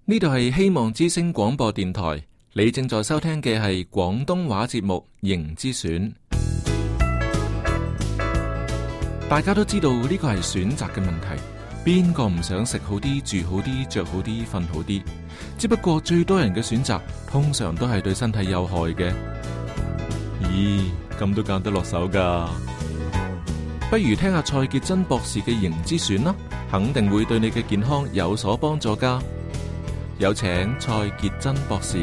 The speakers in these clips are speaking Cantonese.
呢度係希望之聲廣播電台，你正在收聽嘅係廣東話節目《形之選》。大家都知道呢個係選擇嘅問題，邊個唔想食好啲、住好啲、着好啲、瞓好啲？只不過最多人嘅選擇通常都係對身體有害嘅。咦，咁都揀得落手噶？不如聽下蔡潔真博士嘅《形之選》啦，肯定會對你嘅健康有所幫助噶。有請蔡潔真博士。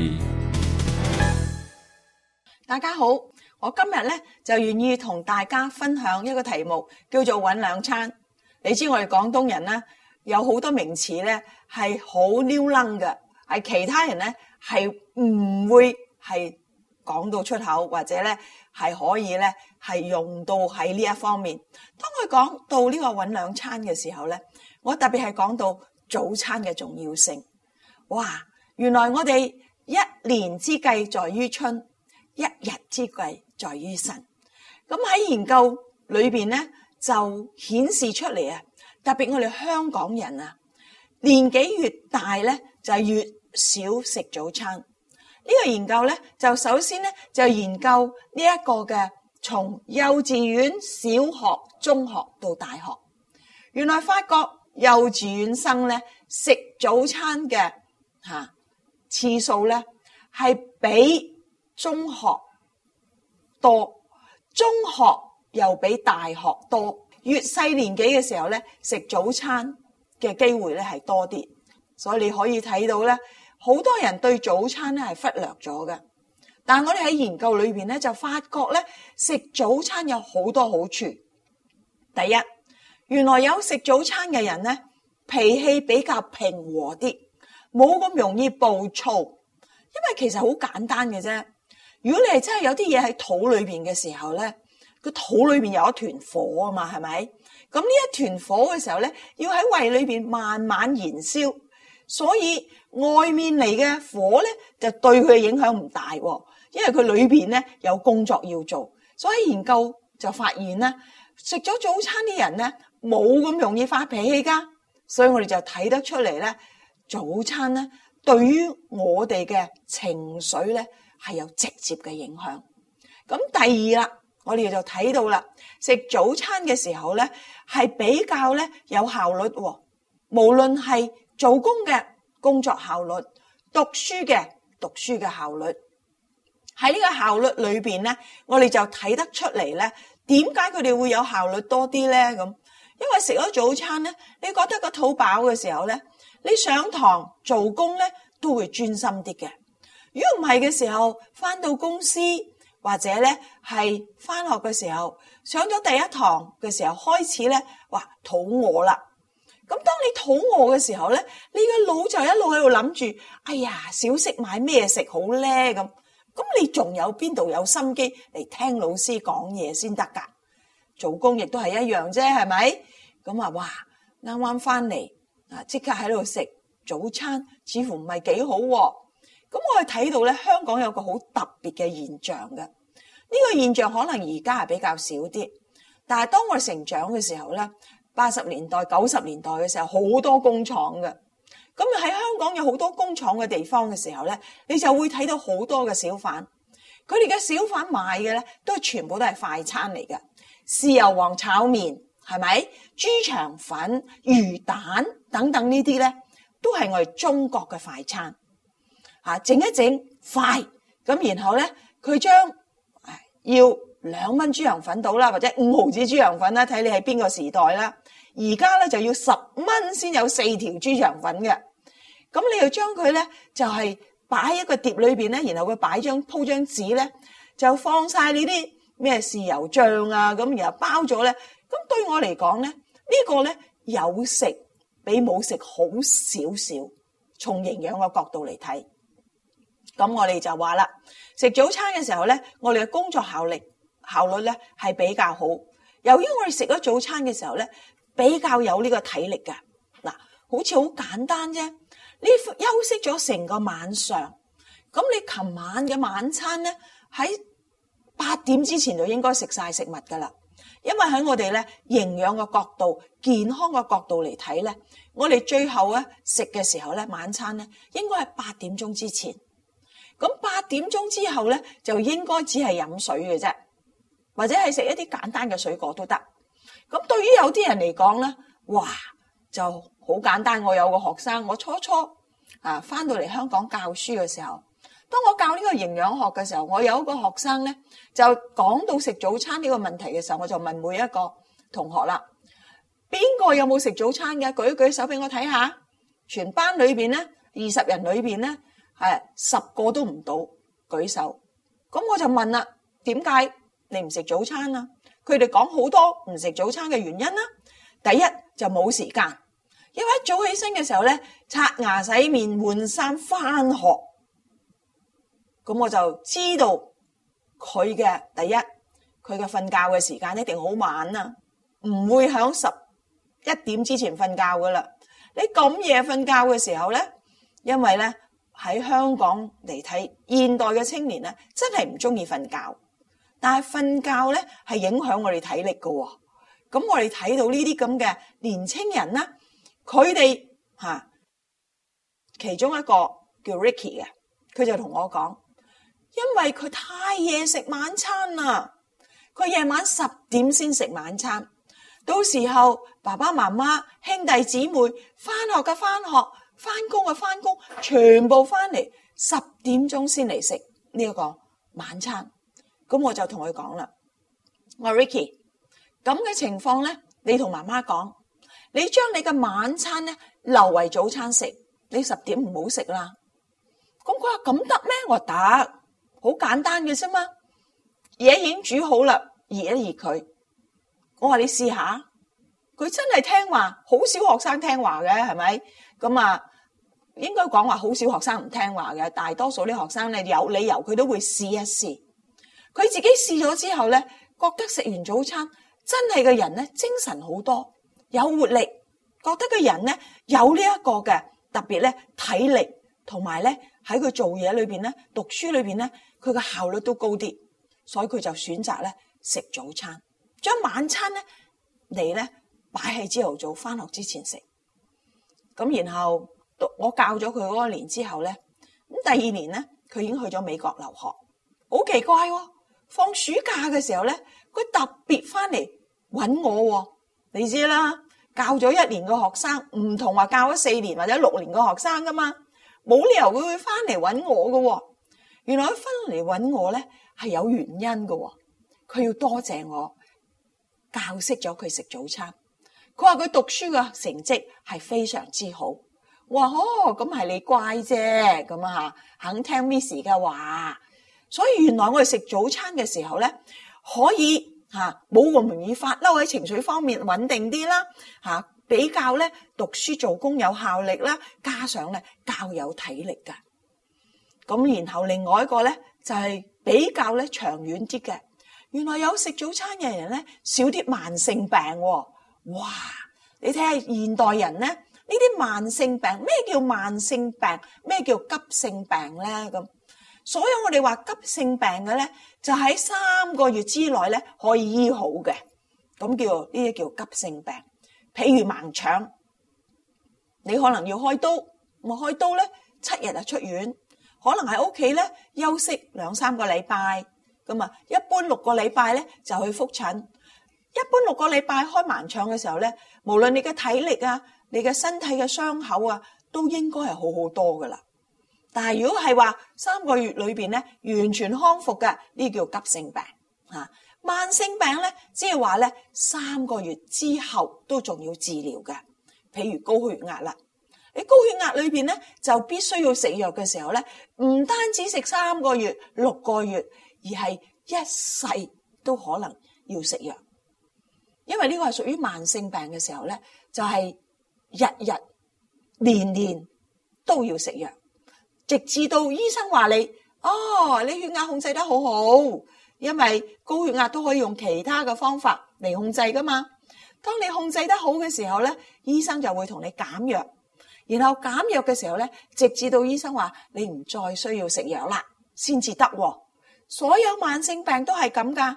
大家好，我今日咧就願意同大家分享一個題目，叫做搵兩餐。你知我哋廣東人咧有好多名詞咧係好溜楞嘅，係其他人咧係唔會係講到出口，或者咧係可以咧係用到喺呢一方面。當佢講到呢個搵兩餐嘅時候咧，我特別係講到早餐嘅重要性。哇！原來我哋一年之計在於春，一日之計在於晨。咁喺研究裏邊咧，就顯示出嚟啊！特別我哋香港人啊，年紀越大咧，就越少食早餐。呢個研究咧，就首先咧就研究呢一個嘅從幼稚園、小學、中學到大學，原來發覺幼稚園生咧食早餐嘅次數咧係比中學多，中學又比大學多。越細年紀嘅時候咧，食早餐嘅機會咧係多啲，所以你可以睇到咧，好多人對早餐咧係忽略咗嘅。但係我哋喺研究裏邊咧就發覺咧，食早餐有好多好處。第一，原來有食早餐嘅人咧，脾氣比較平和啲，冇咁容易暴躁，因為其實好簡單嘅啫。如果你係真係有啲嘢喺肚裏邊嘅時候咧，個肚裏邊有一團火啊嘛，係咪？咁呢一團火嘅時候咧，要喺胃裏邊慢慢燃燒，所以外面嚟嘅火咧就對佢嘅影響唔大，因為佢裏邊咧有工作要做。所以研究就發現咧，食咗早餐啲人咧冇咁容易發脾氣噶，所以我哋就睇得出嚟咧。早餐咧，對於我哋嘅情緒咧，係有直接嘅影響。咁第二啦，我哋就睇到啦，食早餐嘅時候咧，係比較咧有效率喎。無論係做工嘅工作效率，讀書嘅效率，喺呢個效率裏邊咧，我哋就睇得出嚟咧，點解佢哋會有效率多啲咧？咁因為食咗早餐咧，你覺得個肚飽嘅時候咧，你上堂做工咧都會專心啲嘅。如果唔係嘅時候，翻到公司或者咧係翻學嘅時候，上咗第一堂嘅時候開始咧，哇，肚餓啦。咁當你肚餓嘅時候咧，你個腦就一路喺度諗住，哎呀，小息買咩食好咧？咁你仲有邊度有心機嚟聽老師講嘢先得噶？做工亦都係一樣啫，係咪？咁啊，哇，啱啱翻嚟。即刻喺度食早餐，似乎唔係幾好喎。咁我哋睇到咧，香港有個好特別嘅現象嘅。呢個現象可能而家係比較少啲，但係當我哋成長嘅時候咧，80年代、90年代嘅時候，好多工廠嘅。咁喺香港有好多工廠嘅地方嘅時候咧，你就會睇到好多嘅小販，佢哋嘅小販賣嘅咧，全部都係快餐嚟嘅，豉油皇炒麵。係咪？豬腸粉、魚蛋等等呢啲咧，都係我哋中國嘅快餐。整一整快，咁然後咧，佢將要2蚊豬腸粉到啦，或者5毫子豬腸粉啦，睇你係邊個時代啦。而家咧就要10蚊先有4條豬腸粉嘅。咁你又將佢咧就係擺喺一個碟裏邊咧，然後佢鋪張紙咧，就放晒呢啲咩豉油醬啊，咁然後包咗咧。咁對我嚟講咧，呢個咧有食比冇食好少少，從營養嘅角度嚟睇。咁我哋就話啦，食早餐嘅時候咧，我哋嘅工作效率咧係比較好。由於我哋食咗早餐嘅時候咧，比較有呢個體力㗎。嗱，好似好簡單啫。你休息咗成個晚上，咁你琴晚嘅晚餐咧喺8點之前就應該食晒食物㗎啦。 因為喺我哋咧營養嘅角度、健康嘅角度嚟睇咧，我哋最後咧食嘅時候咧，晚餐咧應該係8點鐘之前。咁8點鐘之後咧，就應該只係飲水嘅啫，或者係食一啲簡單嘅水果都得。咁對於有啲人嚟講咧，哇，就好簡單。我有個學生，我初翻到嚟香港教書嘅時候，當我教呢個營養學嘅時候，我有一個學生咧就講到食早餐呢個問題嘅時候，我就問每一個同學啦，邊個有冇食早餐嘅？舉一舉手俾我睇下。全班裏邊咧，20人裏邊咧，10個都唔到舉手。咁我就問啦，點解你唔食早餐啊？佢哋講好多唔食早餐嘅原因啦。第一就冇時間，因為一早起身嘅時候咧，刷牙洗面換衫翻學。咁我就知道佢嘅第一，佢嘅瞓覺嘅時間一定好晚啦，唔會響11點之前瞓覺噶啦。你咁夜瞓覺嘅時候咧，因為咧喺香港嚟睇，現代嘅青年咧真係唔中意瞓覺，但係瞓覺咧係影響我哋體力噶。咁我哋睇到呢啲咁嘅年青人啦，佢哋其中一個叫 Ricky 嘅，佢就同我講，因為佢太夜食晚餐啦，佢夜晚10點先食晚餐，到時候爸爸媽媽兄弟姊妹翻學嘅翻學，翻工嘅翻工，全部翻嚟10點鐘先嚟食呢一個晚餐。咁我就同佢講啦，我話 Ricky，咁嘅情況咧，你同媽媽講，你將你嘅晚餐咧留為早餐食，你10點唔好食啦。咁佢話咁得咩？我得，好簡單嘅啫嘛。嘢已經煮好啦，熱一熱佢。我話你試下，佢真係聽話，好少學生聽話嘅，係咪？咁應該講話好少學生唔聽話嘅，大多數啲學生咧有理由佢都會試一試。佢自己試咗之後咧，覺得食完早餐真係個人咧精神好多，有活力，覺得個人咧有呢一個嘅特別咧體力，同埋咧喺佢做嘢裏邊咧讀書裏邊咧佢嘅效率都高啲，所以佢就選擇咧食早餐，將晚餐咧嚟咧擺喺朝頭早翻學之前食。咁然後我教咗佢嗰個年之後咧，咁第2年咧佢已經去咗美國留學，好奇怪喎！放暑假嘅時候咧，佢特別翻嚟揾我。你知啦，教咗1年嘅學生唔同話教咗4年或者6年嘅學生噶嘛，冇理由佢會翻嚟揾我噶。原來佢翻嚟揾我咧係有原因噶，佢要多謝我教識咗佢食早餐。佢話佢讀書嘅成績係非常之好。我話咁係你乖啫，咁肯聽 Miss 嘅話。所以原來我哋食早餐嘅時候咧，可以冇咁容易發嬲，喺情緒方面穩定啲啦，比較咧讀書做工有效力啦，加上咧較有體力噶。咁然後另外一個咧就係比較咧長遠啲嘅，原來有食早餐嘅人咧少啲慢性病。哇！你睇下現代人咧呢啲慢性病，咩叫慢性病？咩叫急性病咧？咁所有我哋話急性病嘅咧，就喺3個月之內咧可以醫好嘅，咁呢啲叫急性病。譬如盲腸，你可能要開刀，我開刀咧7日就出院，可能喺屋企咧休息2-3個禮拜，咁一般6個禮拜咧就去復診。一般6個禮拜開盲腸嘅時候咧，無論你嘅體力啊，你嘅身體嘅傷口啊，都應該係好好多噶啦。但係如果係話3個月裏邊咧完全康復嘅，呢叫急性病。慢性病咧，即係話咧3個月之後都仲要治療嘅。譬如高血壓啦，你高血壓裏邊咧就必須要食藥嘅時候咧，唔單止食3個月、6個月，而係一世都可能要食藥。因為呢個係屬於慢性病嘅時候咧，就係日日年年都要食藥。直至到醫生話你血壓控制得好好，因為高血壓都可以用其他嘅方法嚟控制噶嘛。當你控制得好嘅時候咧，醫生就會同你減藥，然後減藥嘅時候咧，直至到醫生話你唔再需要食藥啦，先至得。所有慢性病都係咁噶，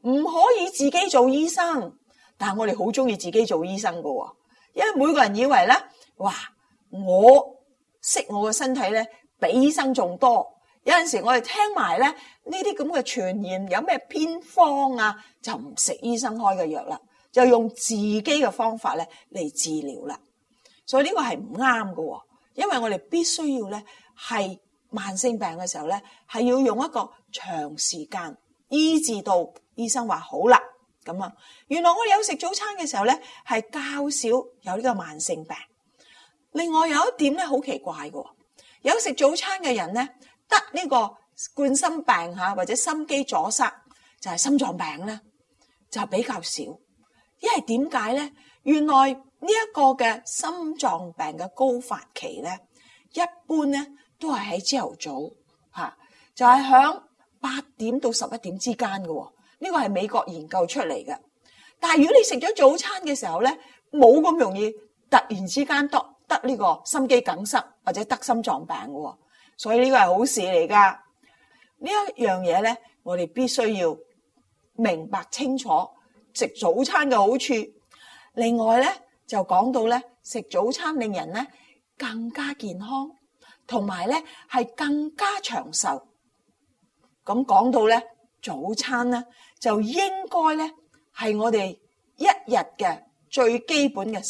唔可以自己做醫生。但係我哋好中意自己做醫生噶，因為每個人以為咧，哇，我識我嘅身體咧，比醫生仲多。有陣時我哋聽埋咧呢啲咁嘅傳言，有咩偏方啊，就唔食醫生開嘅藥啦，就用自己嘅方法咧嚟治療啦。所以呢個係唔啱嘅，因為我哋必須要咧係慢性病嘅時候咧，係要用一個長時間醫治到醫生話好啦。咁啊，原來我哋有食早餐嘅時候咧，係較少有呢個慢性病。另外有一點咧，好奇怪嘅，有食早餐嘅人咧，得呢個冠心病或者心肌阻塞，就係心臟病咧，就比較少。因為點解咧？原來呢一個嘅心臟病嘅高發期咧，一般咧都係喺朝頭早就係響8點到11點之間嘅。呢個係美國研究出嚟嘅，但係如果你食咗早餐嘅時候咧，冇咁容易突然之間得呢個心肌梗塞或者得心臟病嘅，所以呢個係好事嚟噶。呢一樣嘢咧，我哋必須要明白清楚食早餐嘅好處。另外咧就講到咧，食早餐令人咧更加健康，同埋咧係更加長壽。咁講到咧早餐咧，就應該咧係我哋一日嘅最基本嘅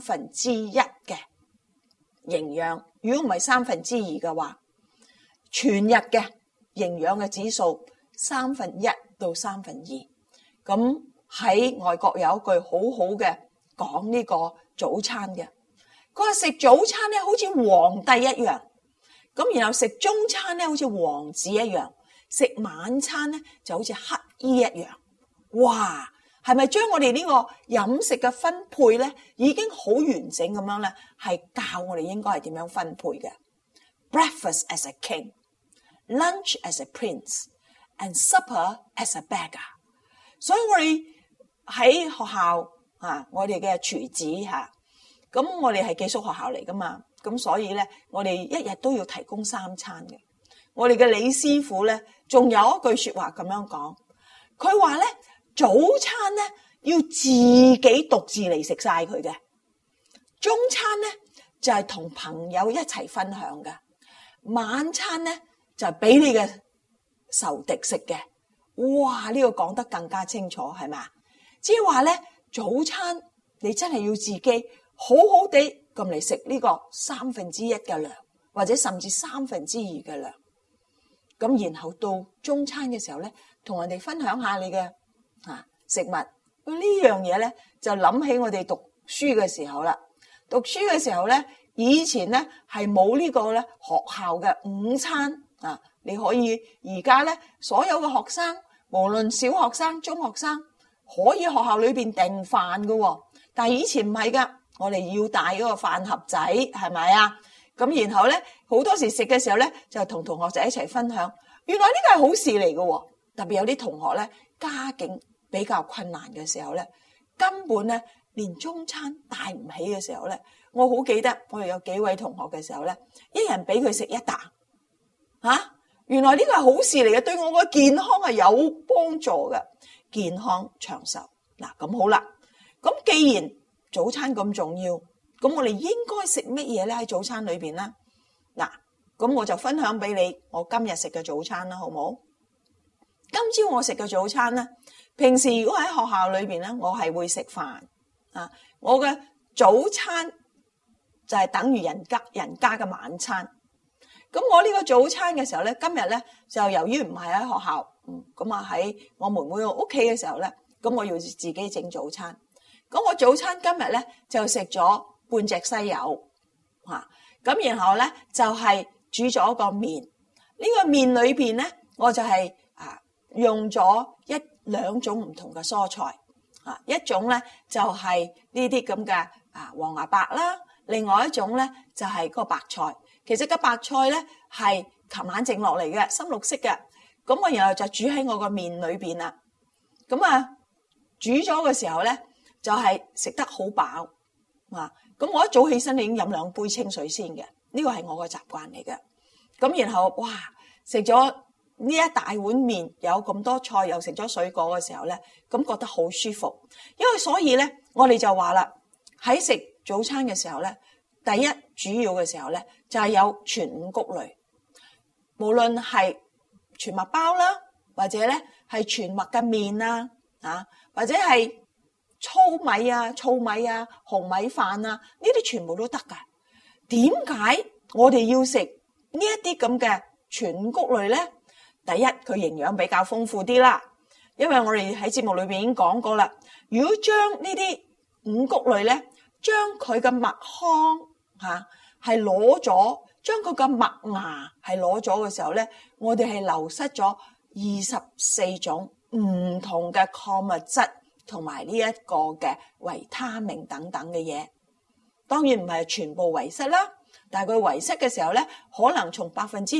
1/3嘅營養。如果唔係2/3嘅話，全日嘅營養嘅指數1/3到2/3。咁喺外國有一句好好嘅講呢個早餐嘅，佢話食早餐咧好似皇帝一樣，咁然後食中餐咧好似王子一樣，食晚餐咧就好似乞衣一樣。哇，係咪將我哋呢個飲食嘅分配咧已經好完整咁樣咧？係教我哋應該係點樣分配嘅。Breakfast as a king, lunch as a prince, and supper as a beggar。所以我哋喺學校我哋嘅廚子咁我哋係寄宿學校嚟噶嘛，咁所以咧我哋一日都要提供3餐嘅。我哋嘅李師傅咧，仲有一句說話咁樣講，佢話咧早餐咧要自己獨自嚟食晒佢嘅，中餐咧就係同朋友一齊分享嘅，晚餐咧就係俾你嘅仇敵食嘅。哇！呢個講得更加清楚，係咪？即係話咧，早餐你真係要自己好好地咁嚟食呢個1/3嘅量，或者甚至2/3嘅量。咁然後到中餐嘅時候咧，同人哋分享下你嘅食物。呢樣嘢咧就諗起我哋讀書嘅時候啦。讀書嘅時候咧，以前咧係冇呢個咧學校嘅午餐你可以而家咧所有嘅學生，無論小學生、中學生，可以學校裏邊訂飯㗎。但係以前唔係噶，我哋要帶嗰個飯盒仔，係咪啊？咁然後咧好多時食嘅時候咧，就同同學仔一齊分享。原來呢個係好事嚟㗎，特別有啲同學咧家境比較困難嘅時候咧，根本咧連中餐帶唔起嘅時候咧，我好記得我哋有幾位同學嘅時候咧，一人俾佢食一啖。原來呢個係好事嚟嘅，對我個健康係有幫助嘅，健康長壽。嗱，咁好啦，咁既然早餐咁重要，咁我哋應該食乜嘢咧？喺早餐裏邊啦，嗱，咁我就分享俾你我今日食嘅早餐啦，好唔好？今朝我食嘅早餐咧，平時如果喺學校裏邊咧，我係會食飯我嘅早餐就係等於人家嘅晚餐。咁我呢個早餐嘅時候咧，今日咧就由於唔係喺學校，咁喺我妹妹屋企嘅時候咧，咁我要自己整早餐。咁我早餐今日咧就食咗半隻西柚，咁然後咧就係煮咗個麵。呢個麵裏邊咧，我就係用咗兩種唔同嘅蔬菜，一種咧就係呢啲咁嘅黃芽白啦，另外一種咧就係個白菜。其實個白菜咧係琴晚整落嚟嘅，深綠色嘅。咁我然後就煮喺我個麵裏邊啦。咁煮咗嘅時候咧，就係食得好飽。咁我一早起身已經飲2杯清水先嘅，呢個係我個習慣嚟嘅。咁然後哇，食咗呢一大碗麵有咁多菜，又食咗水果嘅時候咧，咁覺得好舒服。因為所以咧，我哋就話啦，喺食早餐嘅時候咧，第一主要嘅時候咧，就係有全五穀類，無論係全麥包啦，或者咧係全麥嘅麵啊，或者係糙米啊、糙米啊、紅米飯啊，呢啲全部都得噶。點解我哋要食呢一啲咁嘅全五穀類咧？第一，佢營養比較豐富啲啦，因為我哋喺節目裏邊已經講過啦。如果將呢啲五穀類咧，將佢嘅麥糠係攞咗，將佢嘅麥芽係攞咗嘅時候咧，我哋係流失咗24種唔同嘅礦物質同埋呢一個嘅維他命等等嘅嘢。當然唔係全部遺失啦，但係佢遺失嘅時候咧，可能從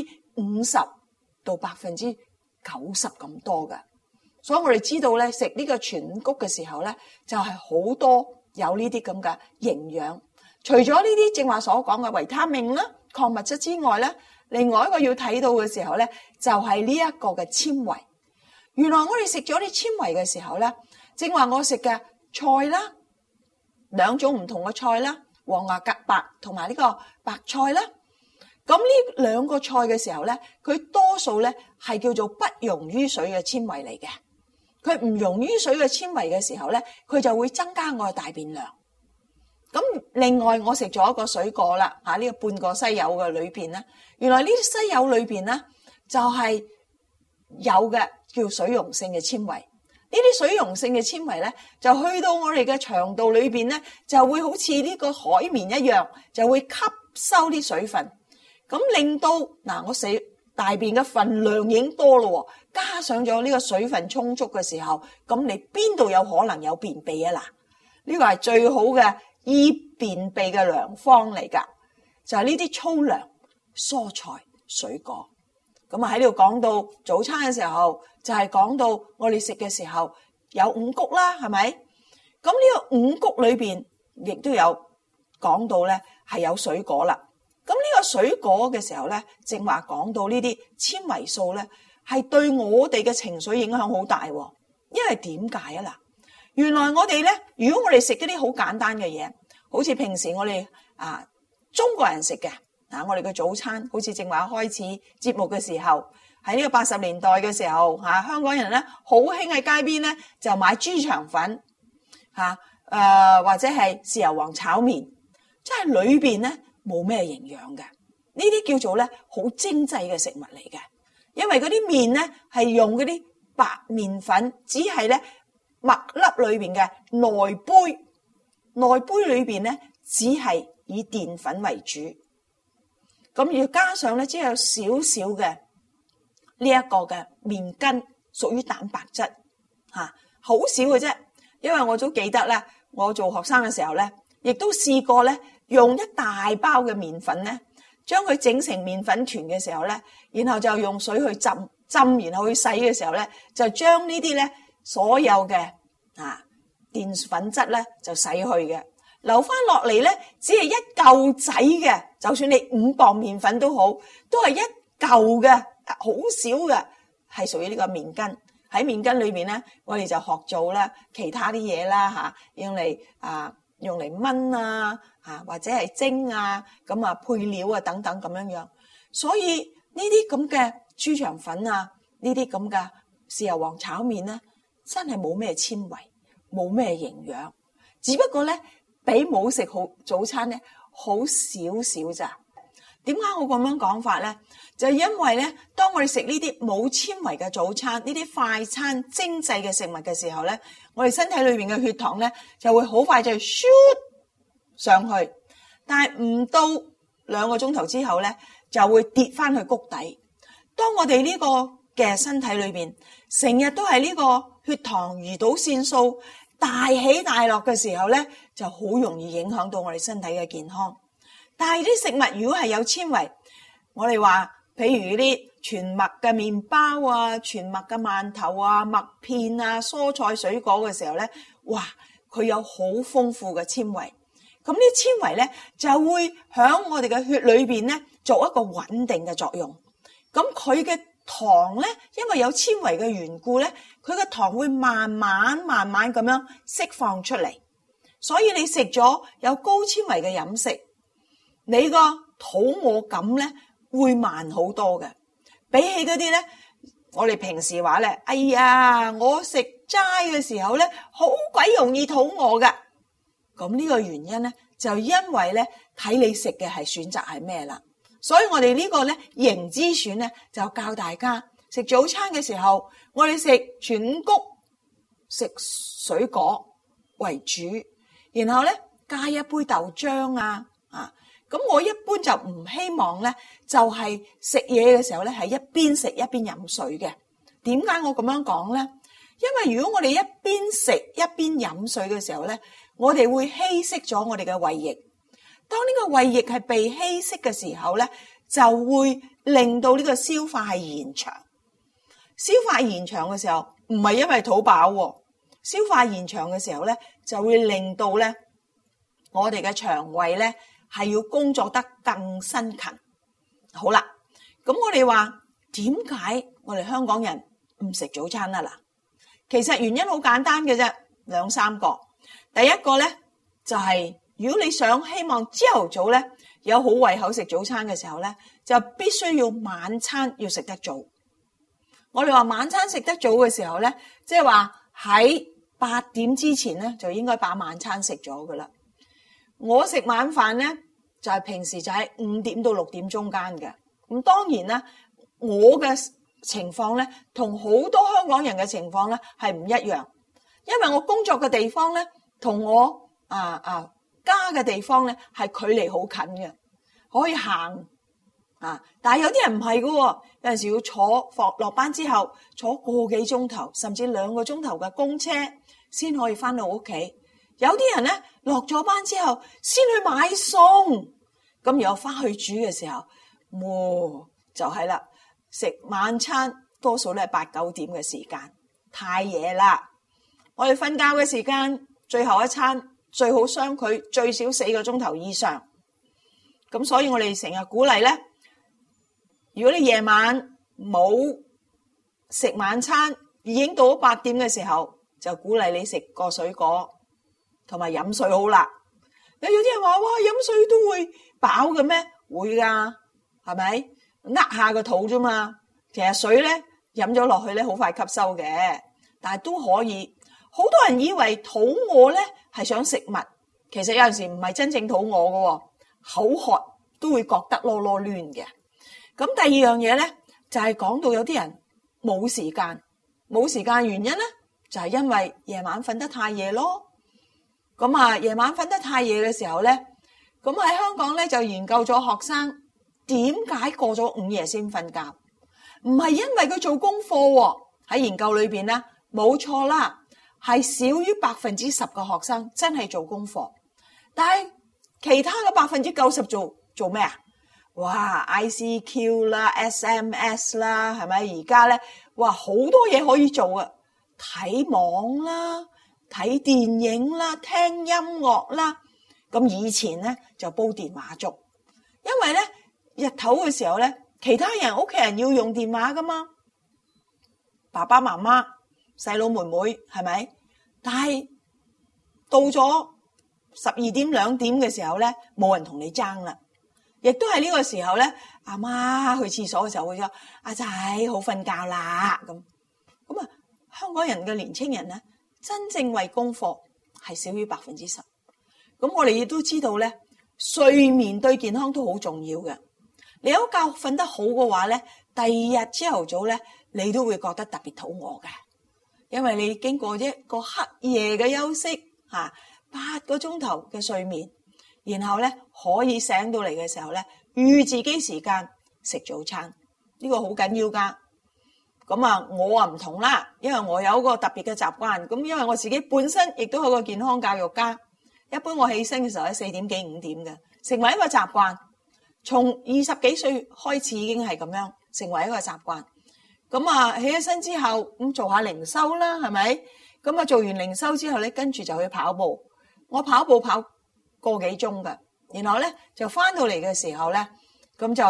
50%到90%咁多嘅。所以我哋知道咧，食呢個全五穀嘅時候咧，就係好多有呢啲咁嘅營養。除咗呢啲正話所講嘅維他命啦、礦物質之外咧，另外一個要睇到嘅時候咧，就係呢一個嘅纖維。原來我哋食咗啲纖維嘅時候咧，正話我食嘅菜啦，兩種唔同嘅菜啦，黃芽夾白同埋呢個白菜啦。咁呢兩個菜嘅時候咧，佢多數咧係叫做不溶於水嘅纖維嚟嘅。佢唔溶於水嘅纖維嘅時候咧，佢就會增加我嘅大便量。咁另外我食咗一個水果啦，呢個半個西柚嘅裏邊咧，原來呢啲西柚裏邊咧就係有嘅叫水溶性嘅纖維。呢啲水溶性嘅纖維咧，就去到我哋嘅腸道裏邊咧，就會好似呢個海綿一樣，就會吸收啲水分。咁令到我食大便嘅份量已經多咯，加上咗呢個水分充足嘅時候，咁你邊度有可能有便秘啊？呢個係最好嘅醫便秘嘅良方嚟噶，就係呢啲粗糧、蔬菜、水果。咁喺呢度講到早餐嘅時候，就係講到我哋食嘅時候有五穀啦，係咪？咁呢個五穀裏邊亦都有講到咧，係有水果啦。咁呢個水果嘅時候咧，正話講到呢啲纖維素咧，係對我哋嘅情緒影響好大。因為點解啊？原來我哋咧，如果我哋食一啲好簡單嘅嘢，好似平時我哋中國人食嘅我哋嘅早餐，好似正話開始節目嘅時候，喺呢個80年代嘅時候香港人咧好興喺街邊咧就買豬腸粉或者係豉油皇炒麵，即係裏邊咧冇咩營養嘅，呢啲叫做咧好精製嘅食物嚟嘅。因為嗰啲麵咧係用嗰啲白麵粉，只係咧麥粒裏邊嘅內杯裏邊咧只係以澱粉為主，咁要加上咧只有少少嘅呢一個嘅麵筋，屬於蛋白質好少嘅啫。因為我都記得咧，我做學生嘅時候咧，亦都試過咧。用一大包嘅麵粉咧，將佢整成麵粉團嘅時候咧，然後就用水去浸，然後去洗嘅時候咧，就將呢啲咧所有嘅澱粉質咧就洗去嘅，留翻落嚟咧只係一嚿仔嘅，就算你5磅麵粉都好，都係一嚿嘅，好少嘅，係屬於呢個麵筋。喺麵筋裏邊咧，我哋就學做啦其他啲嘢啦用嚟燜或者係蒸咁配料等等咁樣樣。所以呢啲咁嘅豬腸粉呢啲咁嘅豉油皇炒麵咧，真係冇咩纖維，冇咩營養，只不過咧比冇食好早餐咧好少少咋。點解我咁樣講法咧？就係因為咧，當我哋食呢啲冇纖維嘅早餐，呢啲快餐精製嘅食物嘅時候咧，我哋身體裏邊嘅血糖咧就會好快就shoot上去，但係唔到2個鐘頭之後咧，就會跌翻去谷底。當我哋呢個嘅身體裏邊成日都係呢個血糖、胰島腺素大起大落嘅時候咧，就好容易影響到我哋身體嘅健康。但係啲食物如果係有纖維，我哋話譬如啲全麥嘅麵包全麥嘅饅頭麥片蔬菜水果嘅時候咧，哇，佢有好豐富嘅纖維。咁呢纖維咧就會響我哋嘅血裏邊咧做一個穩定嘅作用。咁佢嘅糖咧，因為有纖維嘅緣故咧，佢嘅糖會慢慢咁樣釋放出嚟。所以你食咗有高纖維嘅飲食，你個肚餓感咧會慢好多嘅。比起嗰啲咧，我哋平時話咧，哎呀，我食齋嘅時候咧，好鬼容易肚餓噶。咁呢個原因咧，就因為咧睇你食嘅係選擇係咩啦。所以我哋呢個咧營之選咧，就教大家食早餐嘅時候，我哋食全穀、食水果為主，然後咧加一杯豆漿啊。咁我一般就唔希望咧，就係食嘢嘅時候咧，係一邊食一邊飲水嘅。點解我咁樣講咧？因為如果我哋一邊食一邊飲水嘅時候咧，我哋會稀釋咗我哋嘅胃液。當呢個胃液係被稀釋嘅時候咧，就會令到呢個消化係延長。消化延長嘅時候，唔係因為肚飽喎，消化延長嘅時候咧，就會令到咧我哋嘅腸胃咧，係要工作得更辛勤。好啦，咁我哋話點解我哋香港人唔食早餐啊？嗱，其實原因好簡單嘅啫，2、3個。第一個咧就係如果你想希望朝頭早咧有好胃口食早餐嘅時候咧，就必須要晚餐要食得早。我哋話晚餐食得早嘅時候咧，即係話喺8點之前咧就應該把晚餐食咗噶啦。我食晚飯咧就係平時就喺5點到6點中間嘅。咁當然啦，我嘅情況咧同好多香港人嘅情況咧係唔一樣，因為我工作嘅地方咧同我家嘅地方咧係距離好近嘅，可以行但係有啲人唔係㗎喎，有陣時要坐落班之後坐個幾鐘頭，甚至2個鐘頭嘅公車先可以翻到屋企。有啲人咧落咗班之後先去買餸，咁然後翻去煮嘅時候，就係啦，食晚餐多數咧8、9點嘅時間，太夜啦。我哋瞓覺嘅時間，最後一餐最好相距最少4個鐘頭以上。咁所以我哋成日鼓勵咧，如果你夜晚冇食晚餐，已經到咗8點嘅時候，就鼓勵你食個水果同埋飲水好啦。有啲人話哇，飲水都會飽嘅咩？會㗎，係咪？呃下個肚啫嘛。其實水咧飲咗落去咧好快吸收嘅，但係都可以。好多人以為肚餓咧係想食物，其實有陣時唔係真正肚餓嘅，口渴都會覺得囉囉攣嘅。咁第二樣嘢咧就係講到有啲人冇時間原因咧就係因為夜晚瞓得太夜咯。咁夜晚瞓得太夜嘅時候咧，咁喺香港咧就研究咗學生點解過咗午夜先瞓覺，唔係因為佢做功課喎。喺研究裏邊咧冇錯啦，係少於10%嘅學生真係做功課，但係其他嘅90%做咩啊？哇 ICQ 啦 SMS 啦，係咪？而家咧哇好多嘢可以做啊，睇網啦，睇電影啦，聽音樂啦。咁以前咧就煲電話粥，因為咧日頭嘅時候咧，其他人屋企人要用電話噶嘛，爸爸媽媽、細佬妹妹係咪？但係到咗12點2點嘅時候咧，冇人同你爭啦。亦都係呢個時候咧，阿媽去廁所嘅時候會話：阿仔好瞓覺啦。咁香港人嘅年青人咧，真正為功課係少於10%。咁我哋亦都知道咧，睡眠對健康都好重要嘅。你有覺瞓得好嘅話咧，第二日朝頭早咧，你都會覺得特別肚餓嘅，因為你經過一個黑夜嘅休息8個鐘頭嘅睡眠。然後咧可以醒到嚟嘅時候咧，預自己時間食早餐，呢個好緊要噶。咁我唔同啦，因為我有一個特別嘅習慣。咁因為我自己本身亦都係個健康教育家，一般我起身嘅時候喺4點幾5點嘅，成為一個習慣。從20幾歲開始已經係咁樣成為一個習慣。咁起咗身之後咁做下靈修啦，係咪？咁做完靈修之後咧，跟住就去跑步。我跑步跑個幾鐘嘅，然後咧就翻到嚟嘅時候咧，咁就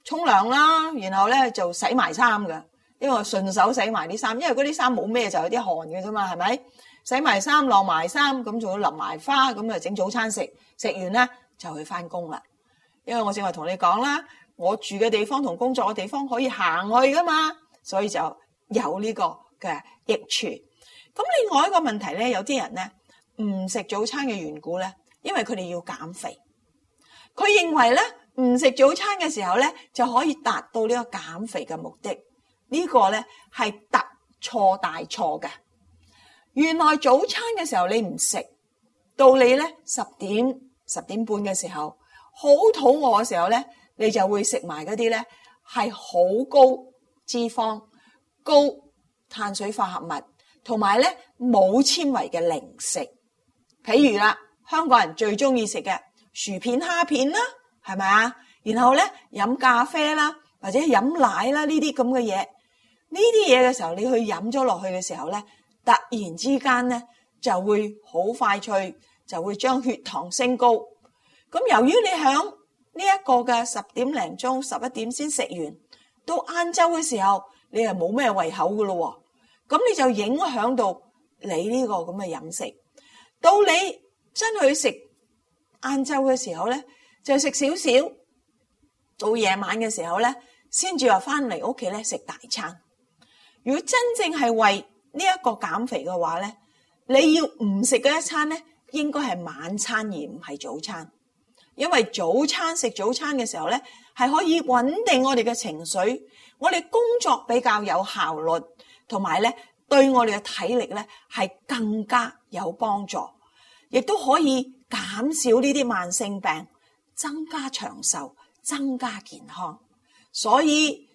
沖涼啦，然後咧就洗埋衫㗎，因為順手洗埋啲衫，因為嗰啲衫冇咩就有啲汗嘅啫嘛，係咪？洗埋衫晾埋衫，咁仲要淋埋花，咁啊整早餐食，食完咧就去翻工啦。因為我正話同你講啦，我住嘅地方同工作嘅地方可以行去噶嘛，所以就有呢個嘅益處。咁另外一個問題咧，有啲人咧唔食早餐嘅緣故咧，因為佢哋要減肥，佢認為咧唔食早餐嘅時候咧就可以達到呢個減肥嘅目的，呢個咧係特錯大錯嘅。原來早餐嘅時候你唔食，到你咧10點半嘅時候，好肚餓嘅時候咧，你就會食埋嗰啲咧係好高脂肪、高碳水化合物，同埋咧冇纖維嘅零食。譬如啦，香港人最中意食嘅薯片、蝦片啦，係咪啊？然後咧飲咖啡啦，或者飲奶啦，呢啲咁嘅嘢，呢啲嘢嘅時候，你去飲咗落去嘅時候咧，突然之間咧就會好快脆，就會將血糖升高。咁由於你響呢一個嘅10點零鐘、11點先食完，到晏晝嘅時候，你又冇咩胃口噶咯，咁你就影響到你呢個咁嘅飲食。到你真去食晏晝嘅時候咧，就食少少，到夜晚嘅時候咧，先至話翻嚟屋企咧食大餐。如果真正係為呢一個減肥嘅話咧，你要唔食嗰一餐咧，應該係晚餐而唔係早餐。因為早餐食早餐嘅時候咧，係可以穩定我哋嘅情緒，我哋工作比較有效率，同埋咧對我哋嘅體力咧係更加有幫助，亦都可以減少呢啲慢性病，增加長壽，增加健康。所以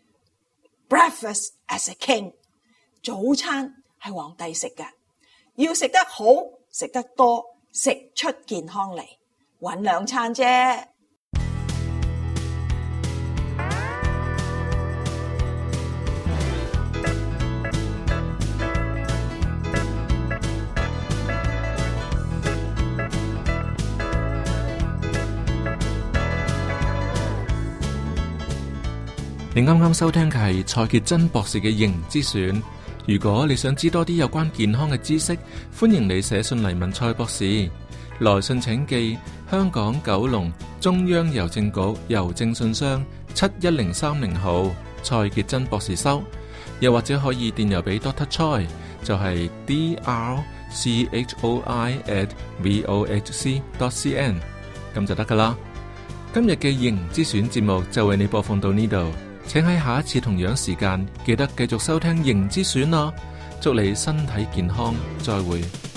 breakfast as a king， 早餐係皇帝食嘅，要食得好，食得多，食出健康嚟。搵2餐啫。 你啱啱收聽嘅係蔡潔真博士嘅營之選。如果你想知多啲有關健康嘅知識，歡迎你寫信嚟問蔡博士。來信請寄香港9龍中央郵政局郵政信箱71030號，蔡潔真博士收。又或者可以電郵俾 Dr. Choi， 就係 drchoi@vohc.cn， 咁就得噶啦。今日嘅營之選節目就為你播放到呢度，請喺下一次同樣時間記得繼續收聽營之選啦。祝你身體健康，再會。